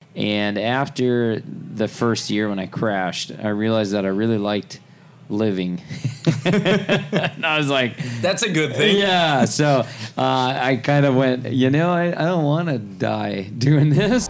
And after the first year when I crashed, I realized that I really liked living. And I was like, that's a good thing. Yeah. So I kind of went, I don't want to die doing this.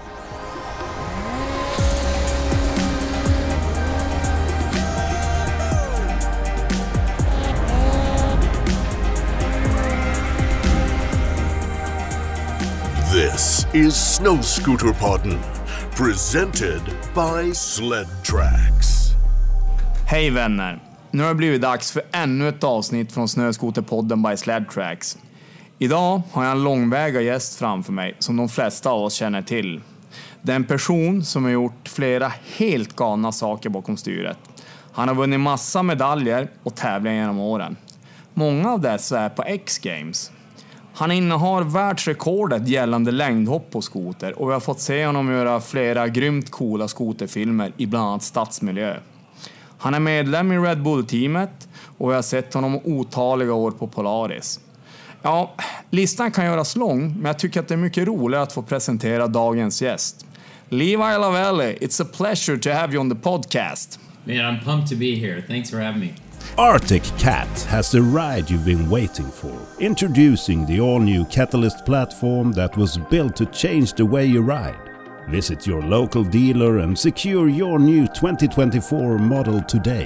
This is Snöskoterpodden, presented by Sled Tracks. Hej vänner! Nu har det blivit dags för ännu ett avsnitt från Snöskoterpodden by Sled Tracks. Idag har jag en långväga gäst framför mig som de flesta av oss känner till. Det är en person som har gjort flera helt galna saker bakom styret. Han har vunnit massa medaljer och tävlingar genom åren. Många av dessa är på X-Games. Han innehar världsrekordet gällande längdhopp på skoter och vi har fått se honom göra flera grymt coola skoterfilmer i bland annat stadsmiljö. Han är medlem i Red Bull-teamet och vi har sett honom otaliga år på Polaris. Ja, listan kan göras lång, men jag tycker att det är mycket roligare att få presentera dagens gäst. Levi Lavelli, it's a pleasure to have you on the podcast. Man, I'm pumped to be here. Thanks for having me. Arctic Cat has the ride you've been waiting for. Introducing the all-new Catalyst platform that was built to change the way you ride. Visit your local dealer and secure your new 2024 model today.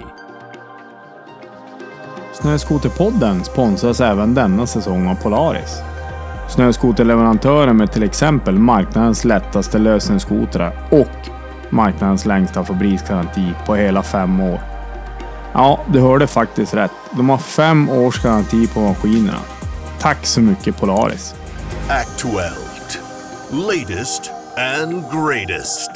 Snöskoterpodden sponsras även denna säsong av Polaris. Snöskoterleverantören med till exempel marknadens lättaste lösningsskotrar och marknadens längsta fabriksgaranti på hela 5 år. Ja, du hörde faktiskt rätt. De har 5 års garanti på maskinerna. Tack så mycket Polaris. Aktuellt, latest and greatest.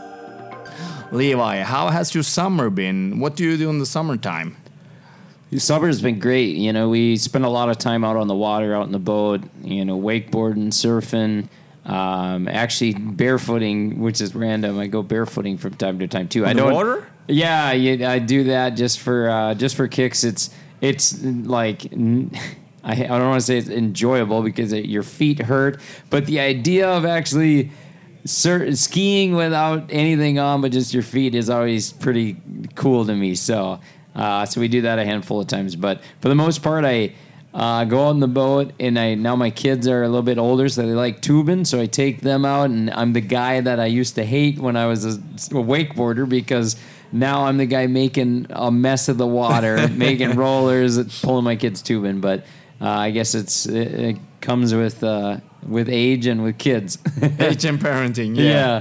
Levi, how has your summer been? What do you do in the summertime? Summer's been great. We spend a lot of time out on the water, out in the boat, wakeboarding, surfing, actually barefooting, which is random. I go barefooting from time to time too. On the water? Yeah, I do that just for kicks. It's like I don't want to say it's enjoyable because your feet hurt, but the idea of actually skiing without anything on but just your feet is always pretty cool to me. So we do that a handful of times, but for the most part, I go out in the boat, and now my kids are a little bit older, so they like tubing, so I take them out, and I'm the guy that I used to hate when I was a wakeboarder because now I'm the guy making a mess of the water, making rollers, pulling my kids tubing. But I guess it comes with age and with kids. Age and parenting, yeah.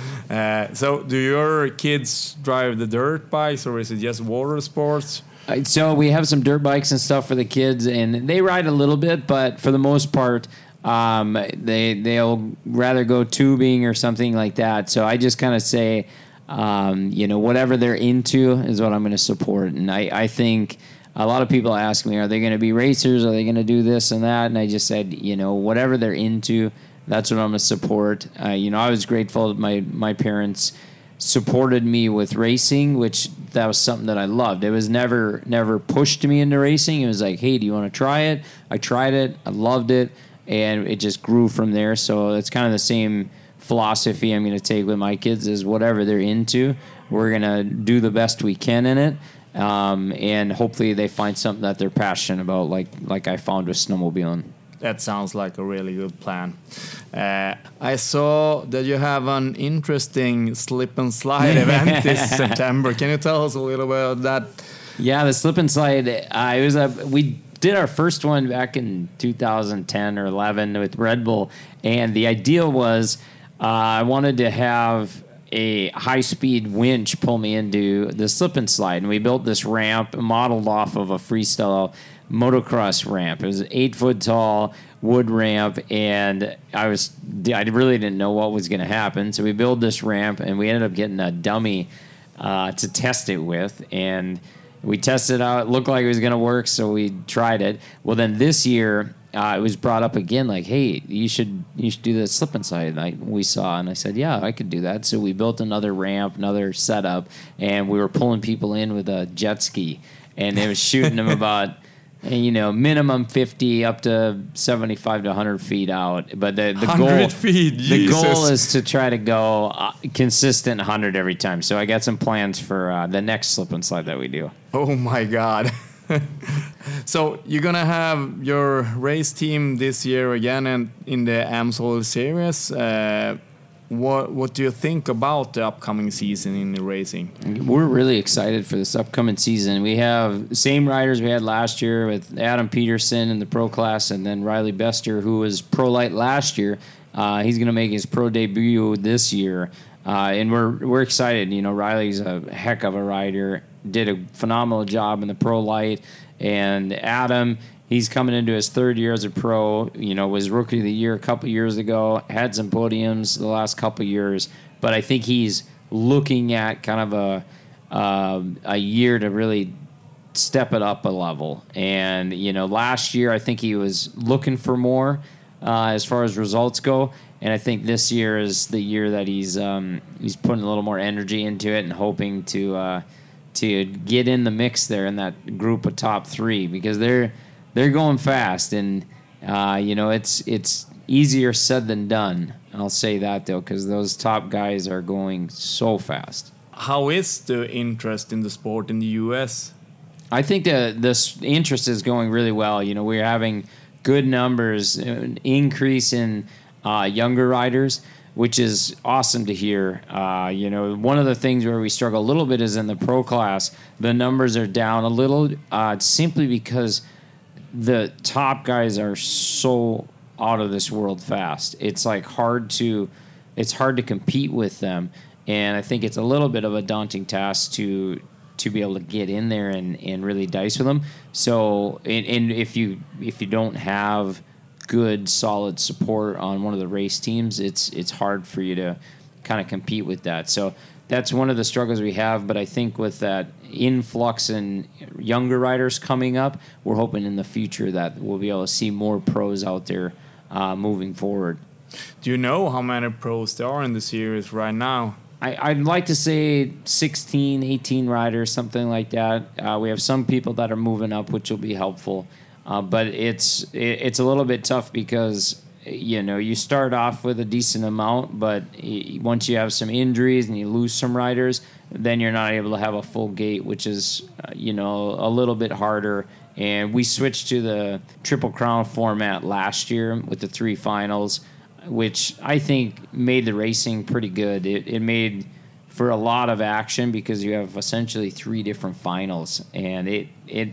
So do your kids drive the dirt bikes, or is it just water sports? So we have some dirt bikes and stuff for the kids, and they ride a little bit, but for the most part, they'll rather go tubing or something like that. So I just kind of say, whatever they're into is what I'm going to support. And I think a lot of people ask me, are they going to be racers? Are they going to do this and that? And I just said, whatever they're into, that's what I'm going to support. I was grateful that my parents supported me with racing, which that was something that I loved. It was never pushed me into racing. It was like, hey, do you want to try it? I tried it. I loved it. And it just grew from there. So it's kind of the same philosophy I'm going to take with my kids is whatever they're into, we're going to do the best we can in it. And hopefully they find something that they're passionate about, like I found with snowmobiling. That sounds like a really good plan. I saw that you have an interesting slip and slide event this September. Can you tell us a little bit about that? Yeah, the slip and slide. We did our first one back in 2010 or 11 with Red Bull, and the idea was I wanted to have a high-speed winch pull me into the slip and slide, and we built this ramp modeled off of a freestyle motocross ramp. It was an 8-foot tall wood ramp, and I really didn't know what was going to happen. So we built this ramp, and we ended up getting a dummy to test it with, and we tested it out. It looked like it was going to work, so we tried it. Well, then this year it was brought up again, like, hey, you should do the slip and slide. We saw, and I said, yeah, I could do that. So we built another ramp, another setup, and we were pulling people in with a jet ski, and it was shooting them about And, minimum 50 up to 75 to 100 feet out. But the 100 goal, feet, the Jesus. goal is to try to go consistent 100 every time. So I got some plans for the next slip and slide that we do. Oh my God. So you're gonna have your race team this year again and in the AMSOIL series. What do you think about the upcoming season in the racing? We're really excited for this upcoming season. We have the same riders we had last year with Adam Peterson in the pro class, and then Riley Bester, who was pro light last year. He's going to make his pro debut this year, and we're excited. Riley's a heck of a rider. Did a phenomenal job in the pro light, and Adam. He's coming into his third year as a pro, was Rookie of the Year a couple years ago, had some podiums the last couple years, but I think he's looking at kind of a year to really step it up a level. And, last year I think he was looking for more as far as results go, and I think this year is the year that he's putting a little more energy into it and hoping to get in the mix there in that group of top three, because they're going fast, and it's easier said than done. I'll say that though, because those top guys are going so fast. How is the interest in the sport in the U.S.? I think this interest is going really well. We're having good numbers, an increase in younger riders, which is awesome to hear. One of the things where we struggle a little bit is in the pro class. The numbers are down a little, simply because the top guys are so out of this world fast. It's hard to compete with them, and I think it's a little bit of a daunting task to be able to get in there and really dice with them. So, and if you don't have good solid support on one of the race teams, it's hard for you to kind of compete with that. So that's one of the struggles we have, but I think with that influx in younger riders coming up, we're hoping in the future that we'll be able to see more pros out there moving forward. Do you know how many pros there are in the series right now? I'd like to say 16, 18 riders, something like that. We have some people that are moving up, which will be helpful. But it's a little bit tough because you start off with a decent amount, but once you have some injuries and you lose some riders, then you're not able to have a full gate, which is a little bit harder. And we switched to the Triple Crown format last year with the 3 finals, which I think made the racing pretty good. It made for a lot of action because you have essentially 3 different finals, and it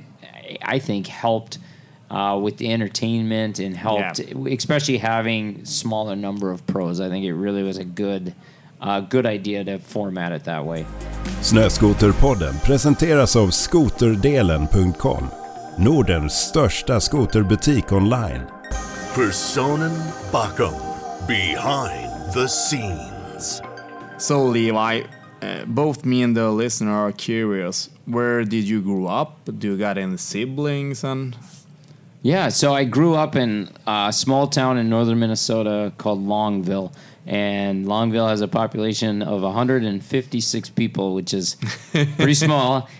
I think helped with the entertainment and helped, especially having smaller number of pros. I think it really was a good idea to format it that way. Snöskoterpodden presenteras av skoterdelen.com, Nordens största skoterbutik online. Personen bakom, behind the scenes. So Levi, both me and the listener are curious. Where did you grow up? Do you got any siblings? Yeah, so I grew up in a small town in northern Minnesota called Longville, and Longville has a population of 156 people, which is pretty small.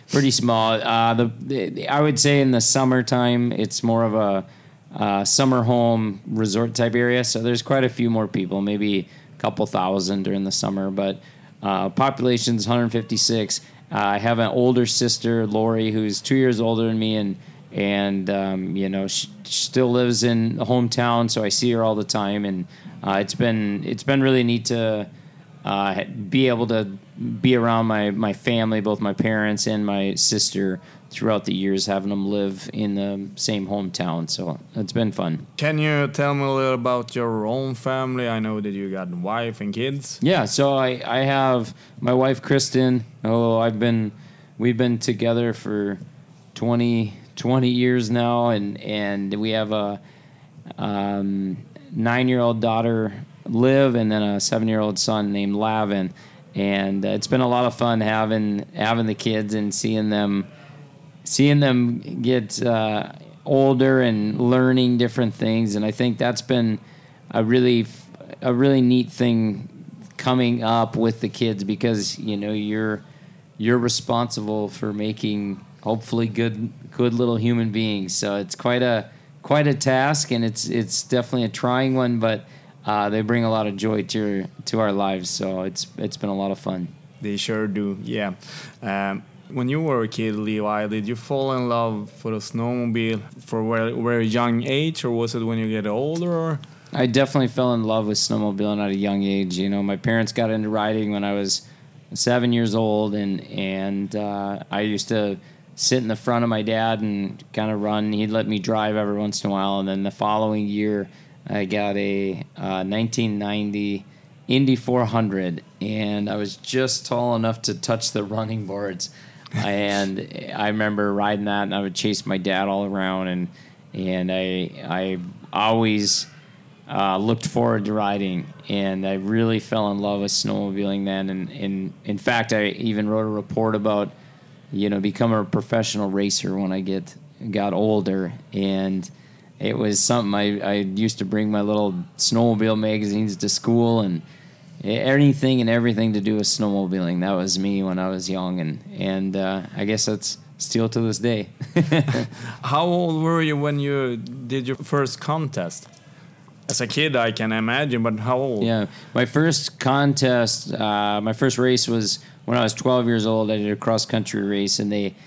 I would say in the summertime, it's more of a summer home resort type area, so there's quite a few more people, maybe a couple thousand during the summer, but population's 156. I have an older sister, Lori, who's 2 years older than me, and she still lives in the hometown, so I see her all the time, and it's been really neat to be able to be around my family, both my parents and my sister, throughout the years, having them live in the same hometown. So it's been fun. Can you tell me a little about your own family? I know that you got a wife and kids. Yeah, so I have my wife Kristen. We've been together for 20 years now, and we have a 9-year-old daughter, Liv, and then a 7-year-old son named Lavin. And it's been a lot of fun having the kids and seeing them get older and learning different things. And I think that's been a really neat thing coming up with the kids, because you're responsible for making hopefully good little human beings. So it's quite a task, and it's definitely a trying one, but they bring a lot of joy to our lives. So it's been a lot of fun. They sure do, yeah. When you were a kid, Levi, did you fall in love for the snowmobile for a very young age, or was it when you get older? Or? I definitely fell in love with snowmobiling at a young age. You know, my parents got into riding when I was 7 years old, and I used to sit in the front of my dad and kind of run. He'd let me drive every once in a while, and then the following year I got a 1990 Indy 400, and I was just tall enough to touch the running boards. And I remember riding that, and I would chase my dad all around, and I always looked forward to riding, and I really fell in love with snowmobiling then. And in fact, I even wrote a report about, you know, becoming a professional racer when I got older. And it was something I used to bring my little snowmobile magazines to school, and anything and everything to do with snowmobiling. That was me when I was young, and I guess that's still to this day. How old were you when you did your first contest? As a kid, I can imagine, but how old? Yeah, my first contest, my first race was when I was 12 years old. I did a cross-country race, and they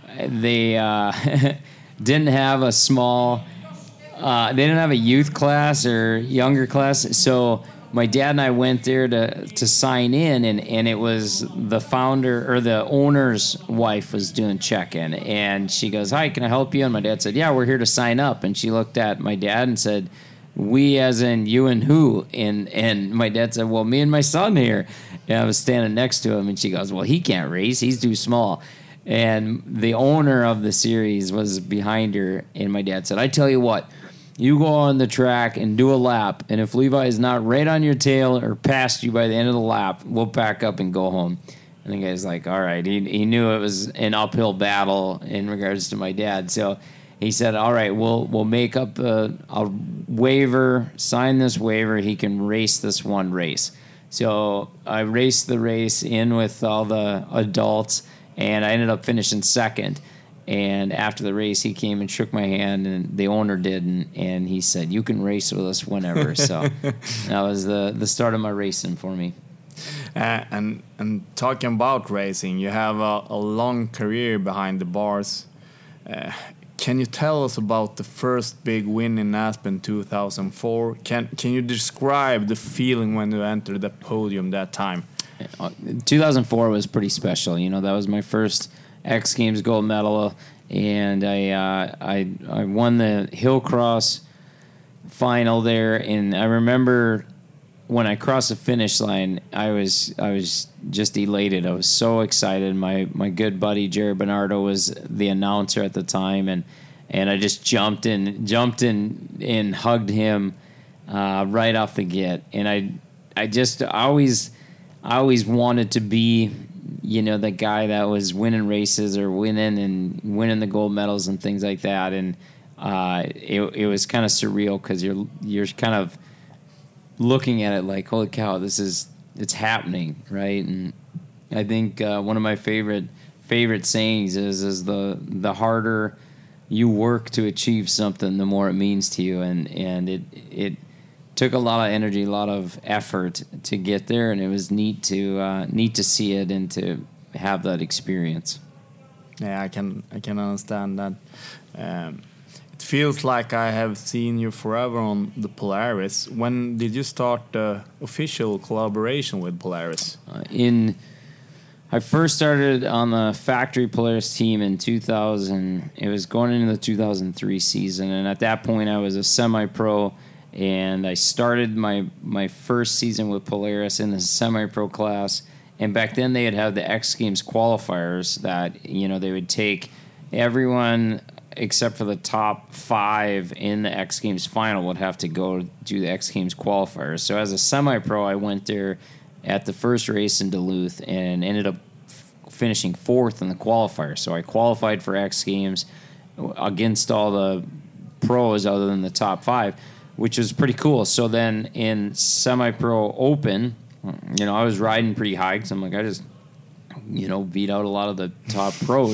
didn't have a small, they didn't have a youth class or younger class, so my dad and I went there to sign in, and it was the founder or the owner's wife was doing check-in, and she goes, "Hi, can I help you?" And my dad said, "Yeah, we're here to sign up." And she looked at my dad and said, "We as in you and who?" And my dad said, "Well, me and my son here." And I was standing next to him, and she goes, "Well, he can't race. He's too small." And the owner of the series was behind her, and my dad said, "I tell you what, you go on the track and do a lap, and if Levi is not right on your tail or past you by the end of the lap, we'll pack up and go home." And the guy's like, all right. He knew it was an uphill battle in regards to my dad. So he said, all right, we'll make up a waiver, sign this waiver. He can race this one race. So I raced the race in with all the adults, and I ended up finishing second. And after the race, he came and shook my hand, and the owner did, and he said, "You can race with us whenever." So that was the start of my racing for me. And talking about racing, you have a long career behind the bars. Can you tell us about the first big win in Aspen 2004? Can you describe the feeling when you entered the podium that time? 2004 was pretty special. You know, that was my first X Games gold medal, and I won the hill cross final there. And I remember when I crossed the finish line, I was just elated. I was so excited. My good buddy Jared Bernardo was the announcer at the time, and I just jumped in and hugged him right off the get. And I always wanted to be, you know, the guy that was winning races or winning the gold medals and things like that. And it was kind of surreal because you're kind of looking at it like, holy cow, it's happening, right? And I think one of my favorite sayings is the harder you work to achieve something, the more it means to you. And it took a lot of energy, a lot of effort to get there, and it was neat to see it and to have that experience. Yeah, I can understand that. It feels like I have seen you forever on the Polaris. When did you start the official collaboration with Polaris? I first started on the factory Polaris team in 2000. It was going into the 2003 season, and at that point I was a semi-pro. And I started my first season with Polaris in the semi-pro class. And back then they had had the X Games qualifiers that, you know, they would take everyone except for the top 5 in the X Games final would have to go do the X Games qualifiers. So as a semi-pro, I went there at the first race in Duluth and ended up finishing 4th in the qualifier. So I qualified for X Games against all the pros other than the top 5, which was pretty cool. So then in semi-pro open, you know, I was riding pretty high because I'm like, I just, you know, beat out a lot of the top pros.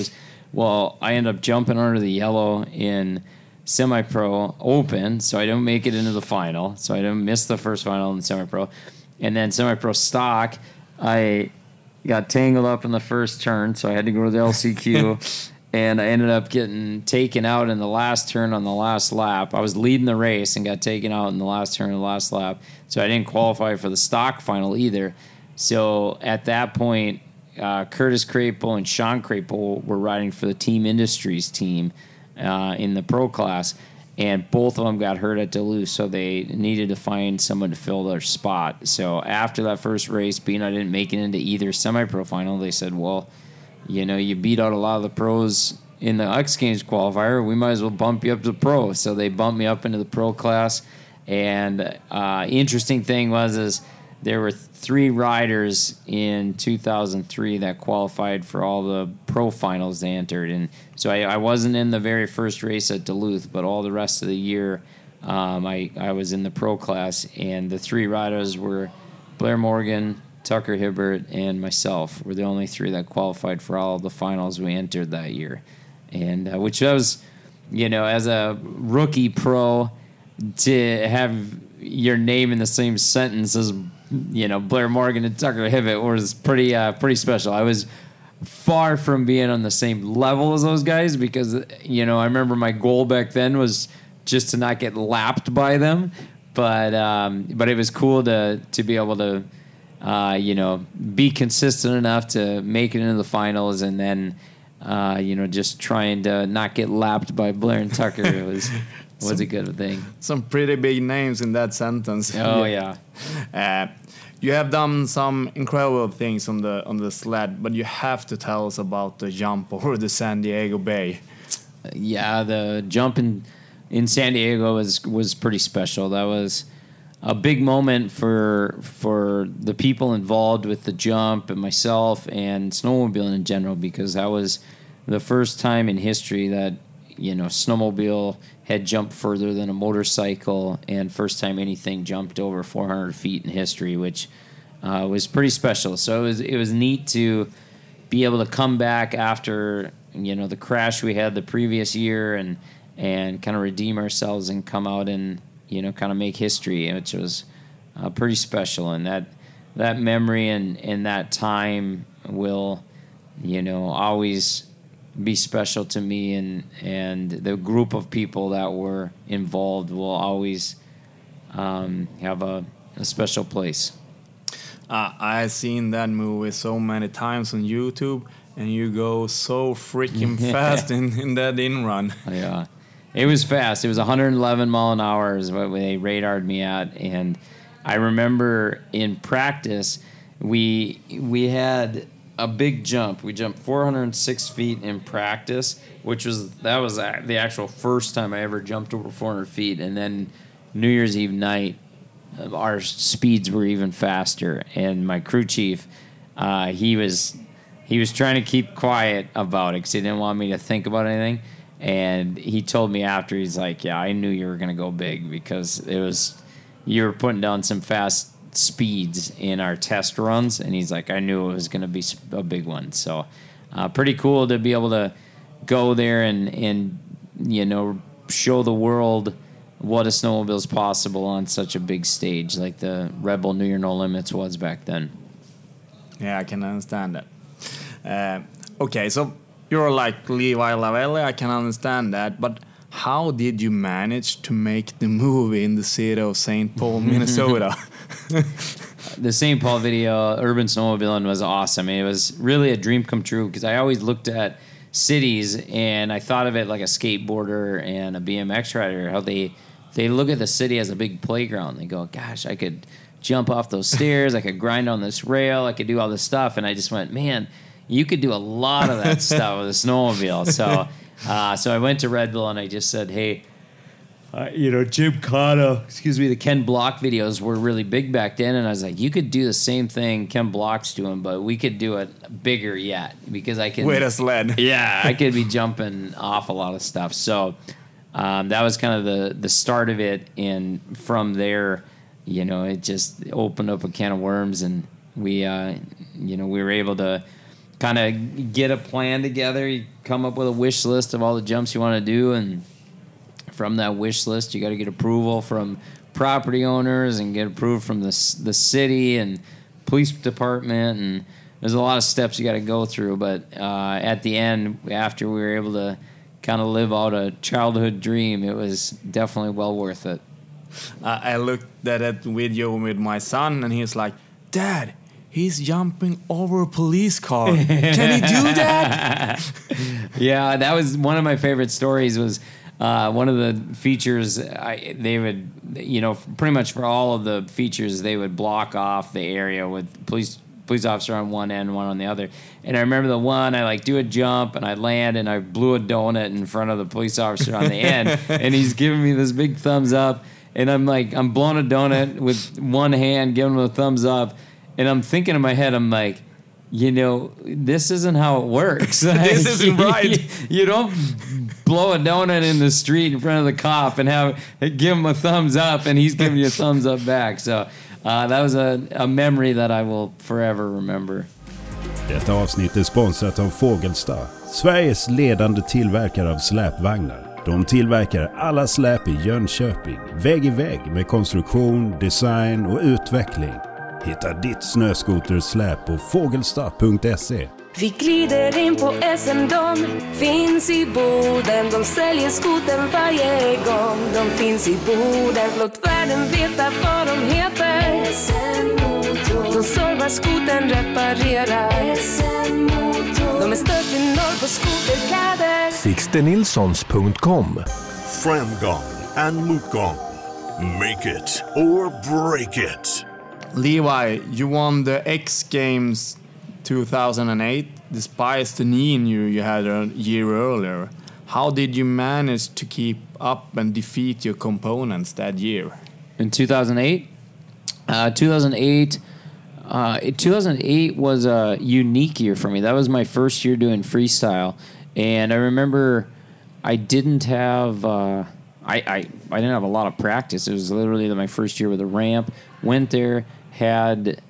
Well, I ended up jumping under the yellow in semi-pro open, so I didn't make it into the final. So I didn't miss the first final in semi-pro. And then semi-pro stock, I got tangled up in the first turn, so I had to go to the LCQ. And I ended up getting taken out in the last turn on the last lap. I was leading the race and got taken out in the last turn of the last lap. So I didn't qualify for the stock final either. So at that point, Curtis Crapel and Sean Crapel were riding for the Team Industries team in the pro class. And both of them got hurt at Duluth, so they needed to find someone to fill their spot. So after that first race, being I didn't make it into either semi-pro final, they said, well, you know, you beat out a lot of the pros in the X Games qualifier. We might as well bump you up to the pro. So they bumped me up into the pro class. And interesting thing is there were 3 riders in 2003 that qualified for all the pro finals they entered. And so I wasn't in the very first race at Duluth, but all the rest of the year I was in the pro class. And the 3 riders were Blair Morgan, Tucker Hibbert, and myself were the only 3 that qualified for all of the finals we entered that year. And which was, you know, as a rookie pro, to have your name in the same sentence as, you know, Blair Morgan and Tucker Hibbert was pretty special. I was far from being on the same level as those guys because, you know, I remember my goal back then was just to not get lapped by them. But it was cool to be able to, you know, be consistent enough to make it into the finals, and then, you know, just trying to not get lapped by Blair and Tucker was a good thing. Some pretty big names in that sentence. Oh yeah. You have done some incredible things on the sled, but you have to tell us about the jump over the San Diego Bay. Yeah, the jump in San Diego was pretty special. That was a big moment for the people involved with the jump and myself and snowmobiling in general, because that was the first time in history that, you know, snowmobile had jumped further than a motorcycle, and first time anything jumped over 400 feet in history, which was pretty special. So it was neat to be able to come back after, you know, the crash we had the previous year and kind of redeem ourselves and come out and, you know, kind of make history, which was pretty special. And that memory and that time will, you know, always be special to me, and the group of people that were involved will always have a special place. I've seen that movie so many times on YouTube, and you go so freaking fast in that in-run. Yeah. It was fast. It was 111 mile an hour is what they radared me at. And I remember in practice, we had a big jump. We jumped 406 feet in practice, that was the actual first time I ever jumped over 400 feet. And then New Year's Eve night, our speeds were even faster. And my crew chief, he was trying to keep quiet about it because he didn't want me to think about anything. And he told me after, he's like, yeah, I knew you were going to go big because you were putting down some fast speeds in our test runs. And he's like, I knew it was going to be a big one. So pretty cool to be able to go there and you know, show the world what a snowmobile is possible on such a big stage like the Red Bull New Year No Limits was back then. Yeah, I can understand that. Okay, so you're like Levi Lavelli, I can understand that, but how did you manage to make the movie in the city of St. Paul, Minnesota? The St. Paul video, Urban Snowmobiling, was awesome. It was really a dream come true because I always looked at cities and I thought of it like a skateboarder and a BMX rider, how they look at the city as a big playground. They go, gosh, I could jump off those stairs, I could grind on this rail, I could do all this stuff. And I just went, man, you could do a lot of that stuff with a snowmobile. So I went to Red Bull and I just said, hey, you know, Jim Cotto, the Ken Block videos were really big back then. And I was like, you could do the same thing Ken Block's doing, but we could do it bigger yet because I can. With a sled. Yeah, I could be jumping off a lot of stuff. So that was kind of the start of it. And from there, you know, it just opened up a can of worms and we, you know, we were able to kind of get a plan together. You come up with a wish list of all the jumps you want to do, and from that wish list, you got to get approval from property owners and get approved from the city and police department, and there's a lot of steps you got to go through. But at the end, after we were able to kind of live out a childhood dream, it was definitely well worth it. I looked at that video with my son, and he's like, "Dad, he's jumping over a police car. Can he do that?" Yeah, that was one of my favorite stories. Was one of the features. They would, pretty much for all of the features, they would block off the area with police officer on one end, one on the other. And I remember the one, I do a jump and I land and I blew a donut in front of the police officer on the end, and he's giving me this big thumbs up, and I'm blowing a donut with one hand, giving him a thumbs up, and I'm thinking in my head, I'm like, this isn't how it works. This isn't right. You don't blow a donut in the street in front of the cop and give him a thumbs up, and he's giving you a thumbs up back. So that was a memory that I will forever remember. Detta avsnitt är sponsrat av Fågelsta, Sveriges ledande tillverkare av släpvagnar. De tillverkar alla släp i Jönköping, vägg i vägg med konstruktion, design och utveckling. Hitta ditt snöskotersläp på fågelsta.se. Vi glider in på SM, de finns i Boden. De säljer skoten varje gång. De finns i Boden, låt världen veta vad de heter. SM-motor. De servar skoten, reparerar. SM-motor. De är störst i norr på skoterkläder. Sixtenilsons.com. Framgång and motgång. Make it or break it. Levi, you won the X Games 2008 despite the knee injury you had a year earlier. How did you manage to keep up and defeat your opponents that year? In 2008? 2008 was a unique year for me. That was my first year doing freestyle, and I remember I didn't have I didn't have a lot of practice. It was literally my first year with a ramp. Went there, had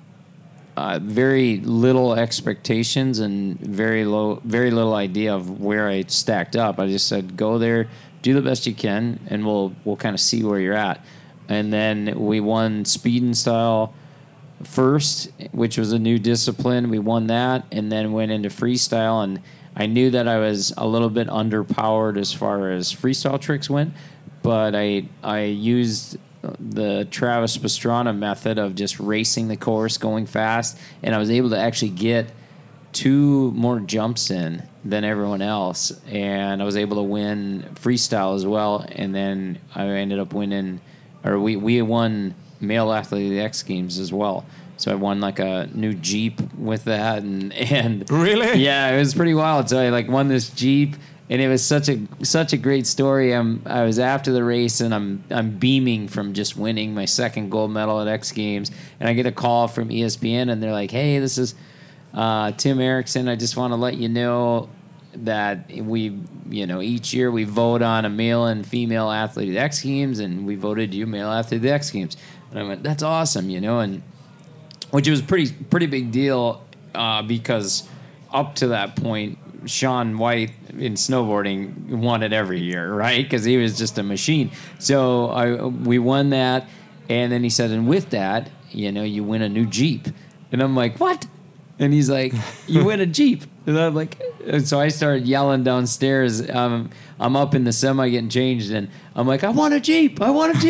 very little expectations and very little idea of where I stacked up. I just said, go there, do the best you can, and we'll kind of see where you're at. And then we won speed and style first, which was a new discipline. We won that, and then went into freestyle. And I knew that I was a little bit underpowered as far as freestyle tricks went, but I used the Travis Pastrana method of just racing the course, going fast, and I was able to actually get 2 more jumps in than everyone else, and I was able to win freestyle as well. And then I ended up winning, or we won Male Athlete of the X Games as well. So I won a new Jeep with that, and Really? Yeah, it was pretty wild. So I won this Jeep. And it was such a great story. I was after the race, and I'm beaming from just winning my second gold medal at X Games, and I get a call from ESPN, and they're like, "Hey, this is Tim Erickson. I just want to let you know that each year we vote on a male and female athlete at the X Games, and we voted you male athlete at the X Games." And I went, "That's awesome," and which was pretty big deal because up to that point, Shaun White in snowboarding won it every year, right? Because he was just a machine. So we won that, and then he said, and with that, you win a new Jeep. And I'm like, what? And he's like, you win a Jeep. And I'm like, and so I started yelling downstairs. I'm up in the semi getting changed, and I'm like, I want a Jeep.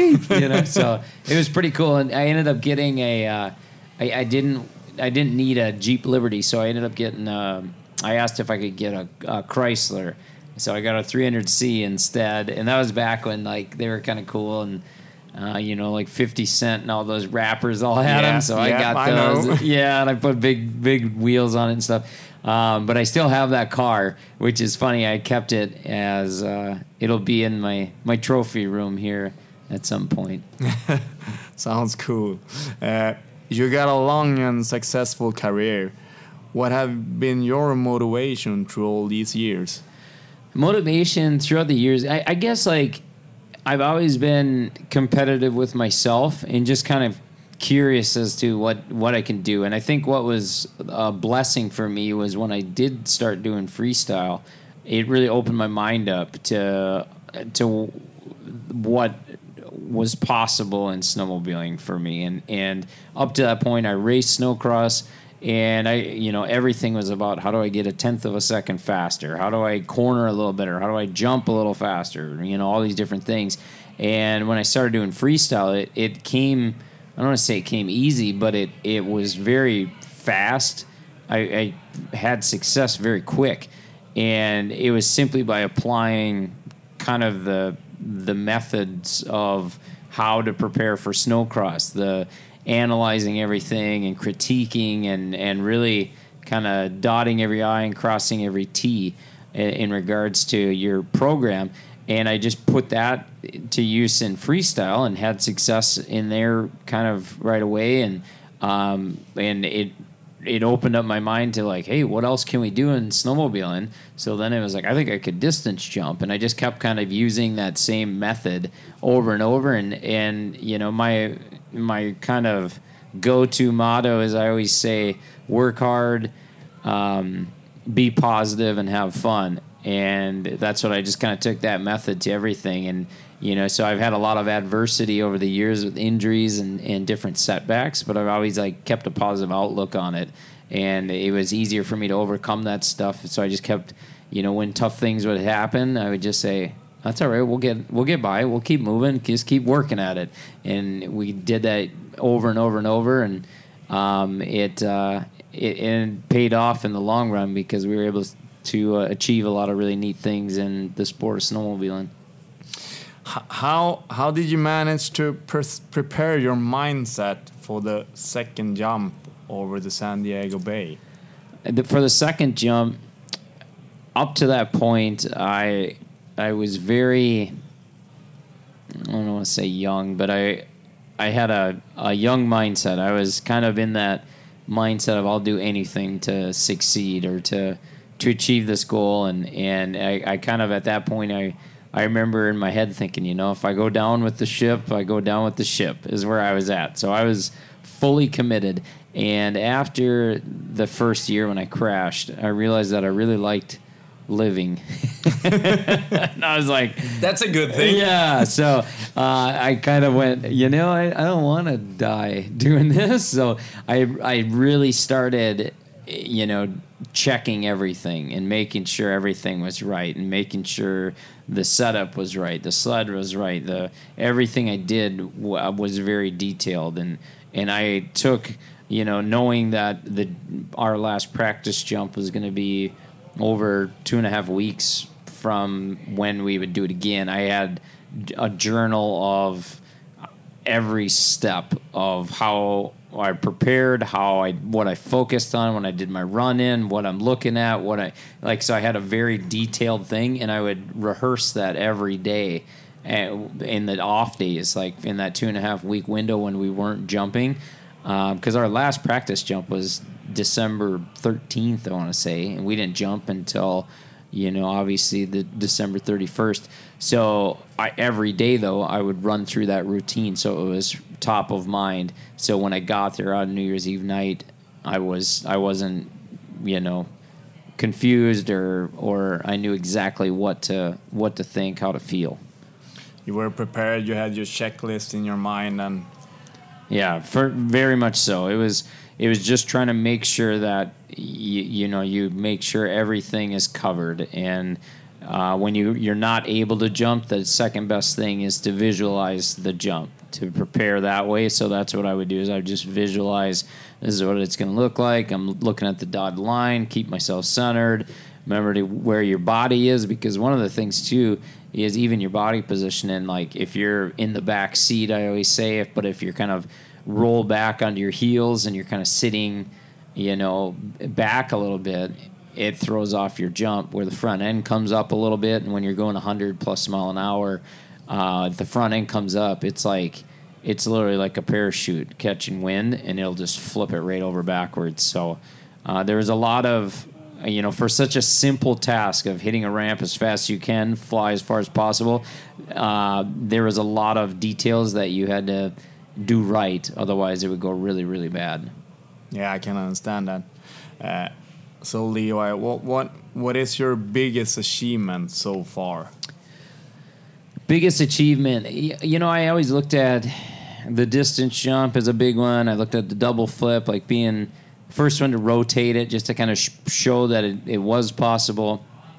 So it was pretty cool. And I ended up getting I didn't need a Jeep Liberty, so I ended up getting I asked if I could get a Chrysler, so I got a 300C instead, and that was back when they were kind of cool, and 50 Cent and all those rappers all had them, so I got those. Yeah, and I put big wheels on it and stuff. But I still have that car, which is funny. I kept it as it'll be in my trophy room here at some point. Sounds cool. You got a long and successful career. What have been your motivation through all these years? Motivation throughout the years, I guess I've always been competitive with myself and just kind of curious as to what I can do. And I think what was a blessing for me was when I did start doing freestyle, it really opened my mind up to what was possible in snowmobiling for me. And up to that point, I raced snowcross, and everything was about how do I get a 1/10 of a second faster? How do I corner a little better? How do I jump a little faster? All these different things. And when I started doing freestyle, it came, I don't want to say it came easy, but it was very fast. I had success very quick. And it was simply by applying kind of the methods of how to prepare for snowcross, the analyzing everything and critiquing and really kind of dotting every I and crossing every T in regards to your program. And I just put that to use in freestyle and had success in there kind of right away. And it opened up my mind to like, hey, what else can we do in snowmobiling? So then it was like, I think I could distance jump. And I just kept kind of using that same method over and over. And my kind of go-to motto is I always say, work hard, be positive, and have fun. And that's what I just kind of took that method to everything. And, so I've had a lot of adversity over the years with injuries and different setbacks, but I've always kept a positive outlook on it. And it was easier for me to overcome that stuff. So I just kept, when tough things would happen, I would just say, that's all right. We'll get by. We'll keep moving. Just keep working at it. And we did that over and over and over. And it paid off in the long run because we were able to achieve a lot of really neat things in the sport of snowmobiling. How did you manage to prepare your mindset for the second jump over the San Diego Bay? For the second jump, up to that point, I was very, I don't want to say young, but I had a young mindset. I was kind of in that mindset of I'll do anything to succeed or to achieve this goal. And I kind of, at that point, I remember in my head thinking, if I go down with the ship, I go down with the ship is where I was at. So I was fully committed. And after the first year when I crashed, I realized that I really liked living. And I was like, that's a good thing. Yeah. So I kind of went, I don't want to die doing this. So I really started, checking everything and making sure everything was right and making sure the setup was right, the sled was right, everything I did was very detailed. And I took, knowing that our last practice jump was going to be over 2.5 weeks from when we would do it again, I had a journal of every step of how I prepared, what I focused on when I did my run in, what I'm looking at, so I had a very detailed thing, and I would rehearse that every day in the off days, like in that 2.5 week window when we weren't jumping, because our last practice jump was December 13th, I want to say, and we didn't jump until, obviously the December 31st. So every day, though, I would run through that routine, so it was top of mind. So when I got there on New Year's Eve night, I wasn't, confused or I knew exactly what to think, how to feel. You were prepared. You had your checklist in your mind, and yeah, very much so. It was just trying to make sure that you make sure everything is covered. And when you're not able to jump, the second best thing is to visualize the jump, to prepare that way. So that's what I would do, is I would just visualize, this is what it's going to look like. I'm looking at the dotted line, keep myself centered, remember to where your body is, because one of the things too is even your body position. And like if you're in the back seat, I always say, but if you're kind of roll back onto your heels and you're kind of sitting, back a little bit, it throws off your jump, where the front end comes up a little bit. And when you're going 100+ mile an hour, the front end comes up, it's literally like a parachute catching wind, and it'll just flip it right over backwards. So there was a lot of, for such a simple task of hitting a ramp as fast as you can, fly as far as possible, there was a lot of details that you had to do right. Otherwise, it would go really, really bad. Yeah, I can understand that. So Levi, what is your biggest achievement so far? Biggest achievement, I always looked at the distance jump as a big one. I looked at the double flip, like being first one to rotate it, just to kind of show that it was possible.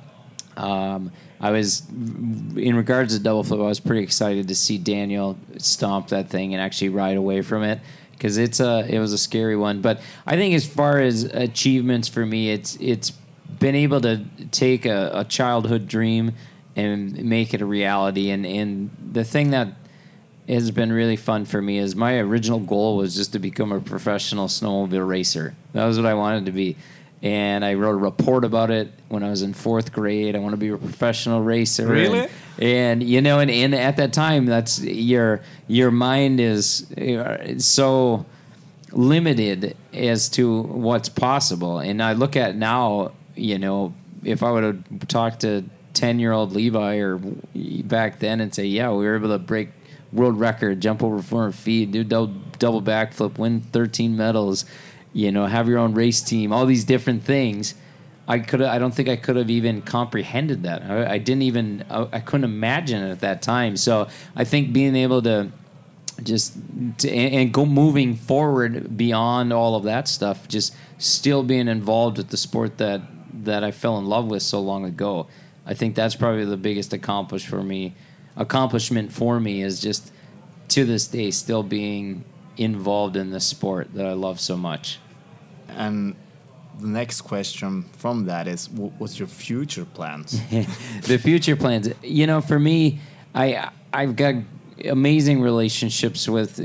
I was, in regards to double flip, I was pretty excited to see Daniel stomp that thing and actually ride away from it, because it was a scary one. But I think as far as achievements for me, it's been able to take a childhood dream and make it a reality. And the thing that has been really fun for me is my original goal was just to become a professional snowmobile racer. That was what I wanted to be. And I wrote a report about it when I was in 4th grade. I want to be a professional racer. Really? And and at that time, that's your mind is so limited as to what's possible. And I look at now, if I would have talked to 10-year-old Levi or back then and say, yeah, we were able to break world record, jump over 400 feet, do double backflip, win 13 medals, have your own race team, all these different things. I don't think I could have even comprehended that. I couldn't imagine it at that time. So I think being able to go moving forward beyond all of that stuff, just still being involved with the sport that I fell in love with so long ago. I think that's probably the biggest accomplishment for me is just to this day still being involved in the sport that I love so much. And the next question from that is, what's your future plans? The future plans, for me, I've got amazing relationships with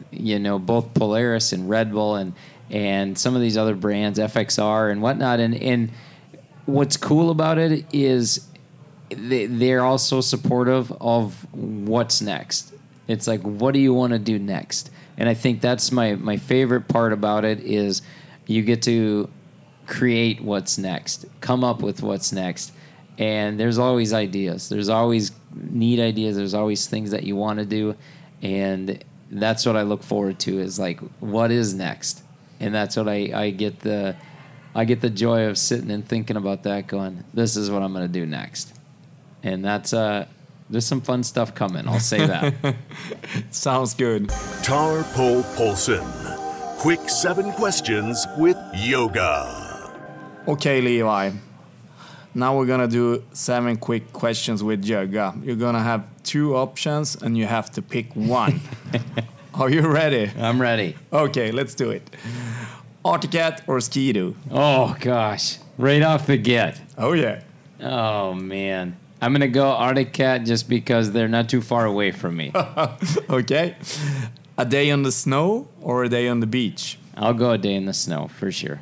both Polaris and Red Bull and some of these other brands, FXR and whatnot. And what's cool about it is they're all so supportive of what's next. It's like, what do you want to do next? And I think that's my favorite part about it is you get to create what's next, come up with what's next. And there's always ideas. There's always neat ideas. There's always things that you want to do. And that's what I look forward to is like, what is next? And that's what I get the joy of sitting and thinking about that going, this is what I'm going to do next. And that's there's some fun stuff coming, I'll say that. Sounds good. Tar Pole Paulsen. Quick 7 questions with yoga. Okay, Levi. Now we're gonna do 7 quick questions with yoga. You're gonna have 2 options and you have to pick one. Are you ready? I'm ready. Okay, let's do it. Arctic Cat or Ski-Doo? Oh, gosh. Right off the get. Oh, yeah. Oh, man. I'm going to go Arctic Cat just because they're not too far away from me. Okay. A day on the snow or a day on the beach? I'll go a day in the snow, for sure.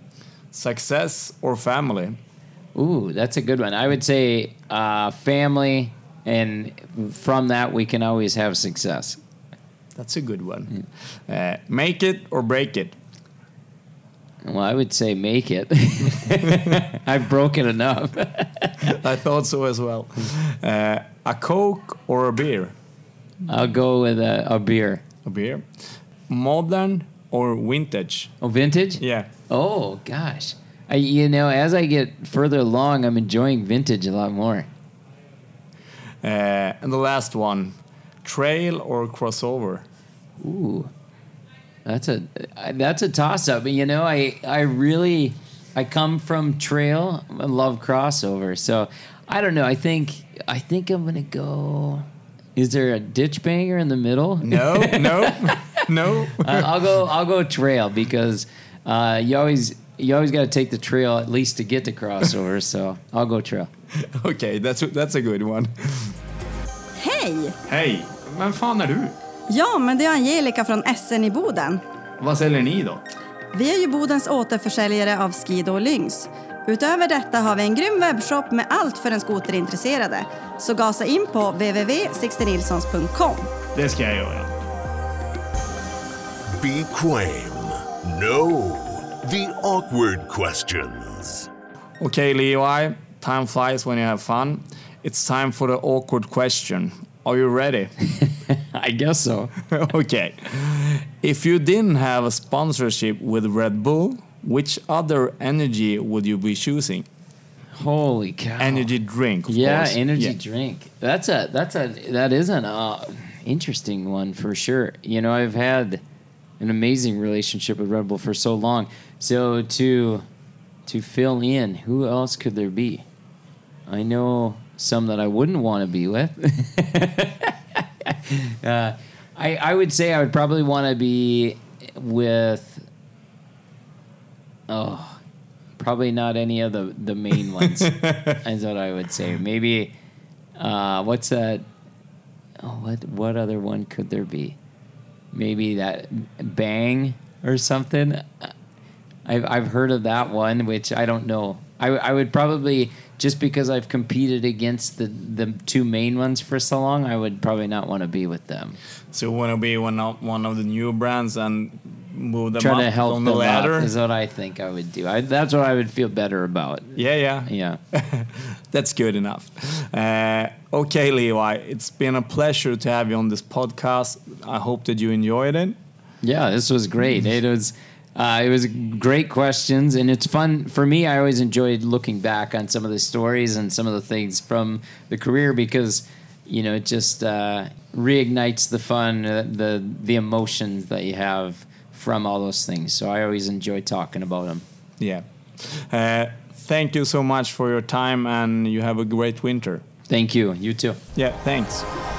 Success or family? Ooh, that's a good one. I would say family, and from that we can always have success. That's a good one. Make it or break it? Well, I would say make it. I've broken enough. I thought so as well. A Coke or a beer? I'll go with a beer. A beer. Modern or vintage? Oh, vintage? Yeah. Oh, gosh. As I get further along, I'm enjoying vintage a lot more. And the last one, trail or crossover? Ooh, that's a toss-up. I come from trail. I love crossover. So I don't know. I think I'm gonna go. Is there a ditch banger in the middle? No. I'll go trail because you always got to take the trail at least to get to crossover. So I'll go trail. Okay, that's a good one. Hej! Hej, vem fan är du? Ja, men det är Angelica från SN i Boden. Vad säljer ni då? Vi är ju Bodens återförsäljare av Ski-Doo och Lynx. Utöver detta har vi en grym webbshop med allt för den skoterintresserade. Så gasa in på www.sixtenilsons.com. Det ska jag göra. Be Quame. No. The awkward questions. Okay, Levi. Time flies when you have fun. It's time for the awkward question. Are you ready? I guess so. Okay. If you didn't have a sponsorship with Red Bull, which other energy would you be choosing? Holy cow. Energy drink, of Yeah, course. energy Yeah. drink. That is an interesting one for sure. You know, I've had an amazing relationship with Red Bull for so long. So to fill in, who else could there be? I know some that I wouldn't want to be with. I would say I would probably want to be with. Probably not any of the main ones. Is what I would say. Maybe what's that? What other one could there be? Maybe that Bang or something. I've heard of that one, which I don't know. I would probably, just because I've competed against the two main ones for so long, I would probably not want to be with them. So you want to be one of the new brands and move them Try up to help on them the ladder? up is what I think I would do. That's what I would feel better about. Yeah. That's good enough. Okay, Levi, it's been a pleasure to have you on this podcast. I hope that you enjoyed it. Yeah, this was great. It was great questions, and it's fun for me. I always enjoyed looking back on some of the stories and some of the things from the career because, you know, it just reignites the fun, the emotions that you have from all those things. So I always enjoy talking about them. Yeah. Thank you so much for your time, and you have a great winter. Thank you. You too. Yeah, thanks.